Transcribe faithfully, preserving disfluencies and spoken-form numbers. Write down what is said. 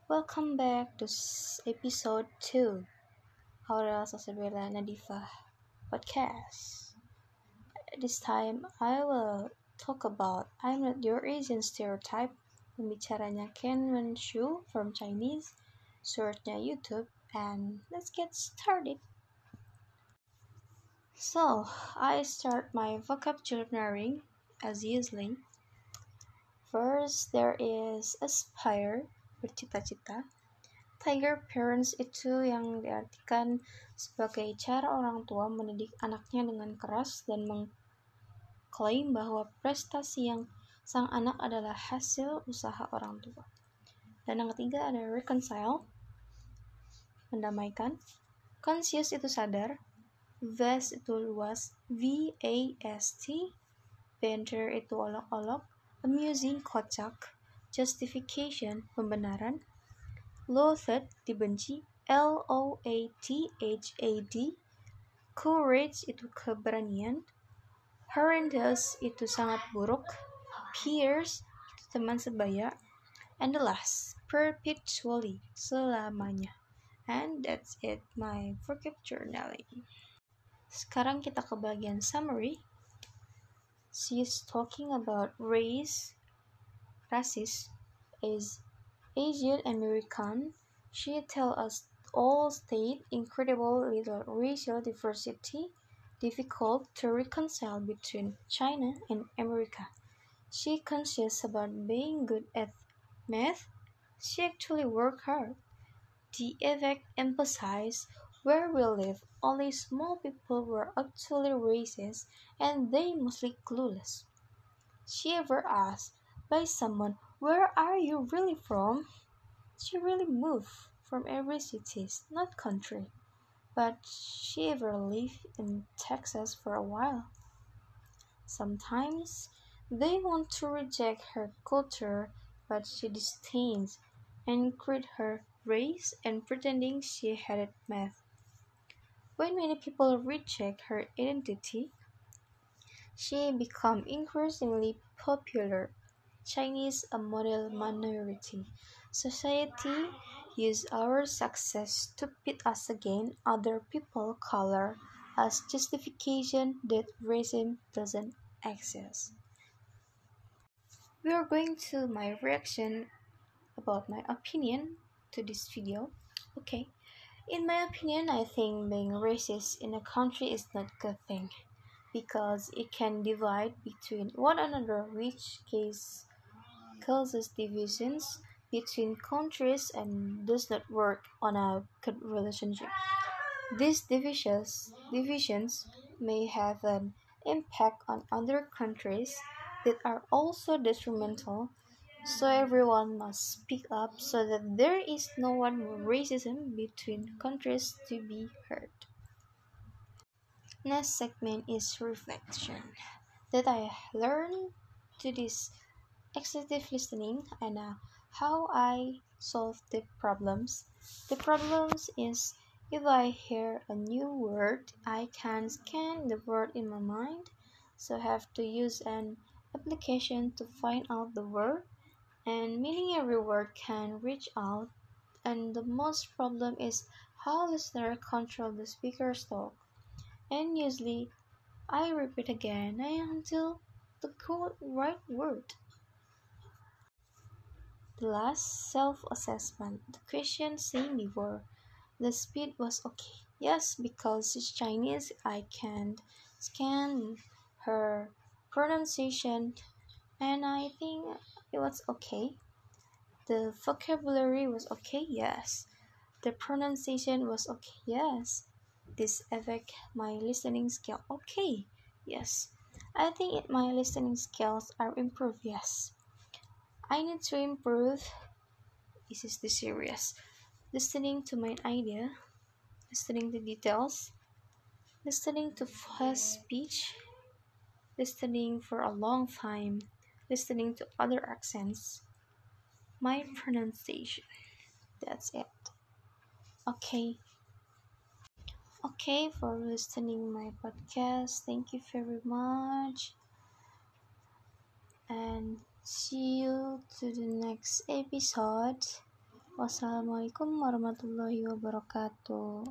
Welcome back to s- episode two Aurel Sasabella Nadifa podcast. This time I will talk about I'm not your Asian stereotype. Pembicaranya Ken Wen Shu from Chinese, searchnya YouTube, and let's get started. So, I start my vocabulary as usually. First, there is aspire, bercita-cita. Tiger parents itu yang diartikan sebagai cara orang tua mendidik anaknya dengan keras dan mengklaim bahwa prestasi yang sang anak adalah hasil usaha orang tua. Dan yang ketiga ada reconcile, mendamaikan. Conscious itu sadar, vast itu luas, V A S T, banter itu olok-olok, amusing kocak, justification pembenaran, loathed dibenci, L O A T H A D, courage itu keberanian, horrendous itu sangat buruk, peers itu teman sebaya, and the last, perpetually, selamanya. And that's it, my vocab journaling. Sekarang kita ke bagian summary. She's talking about race, rasis, is Asian American. She tell us all state incredible little racial diversity, difficult to reconcile between China and America. She conscious about being good at math. She actually work hard. The effect emphasize where we live, only small people were actually racist and they mostly clueless. She ever asked by someone, "Where are you really from?" She really moved from every city, not country, but she ever lived in Texas for a while. Sometimes they want to reject her culture, but she disdains and crit her race and pretending she hated math. When many people reject her identity, she become increasingly popular. Chinese a model minority. Society use our success to pit us against other people color as justification that racism doesn't exist. We are going to my reaction about my opinion to this video. Okay. In my opinion, I think being racist in a country is not a good thing because it can divide between one another, which case causes divisions between countries and does not work on a good relationship. These divisions, divisions may have an impact on other countries that are also detrimental, so everyone must speak up so that there is no one racism between countries to be heard. Next segment is reflection that I learned to this executive listening and uh, how I solve the problems. The problems is if I hear a new word, I can scan the word in my mind, so I have to use an application to find out the word, and meaning every word can reach out. And the most problem is how listener control the speaker's talk. And usually, I repeat again until the correct right word. The last self-assessment, the question same before. The speed was okay. Yes, because she's Chinese, I can't scan her pronunciation, and I think it was okay. The vocabulary was okay. Yes. The pronunciation was okay. Yes. This affect my listening skill. Okay. Yes. I think it, my listening skills are improved. Yes. I need to improve. This is the serious. Listening to my idea, listening to details, listening to fast speech, listening for a long time, listening to other accents, my pronunciation. That's it. Okay. Okay for listening my podcast. Thank you very much. And see you to the next episode. Wassalamualaikum warahmatullahi wabarakatuh.